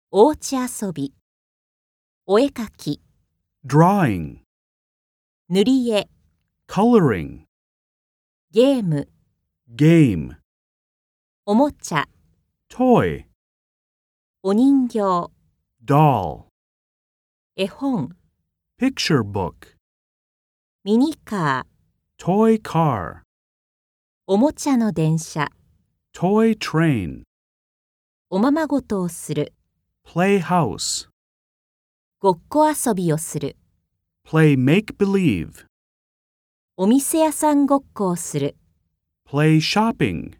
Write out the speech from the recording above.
おうち遊び、お絵描き、 drawing, 塗り絵、 coloring, ゲーム、 game, おもちゃ、 toy, お人形、 doll, 絵本、 picture book, ミニカー、 toy car, おもちゃの電車、 toy train, おままごとをする、 playhouse, ごっこ遊びをする、 play make-believe, お店屋さんごっこをする、 play shopping.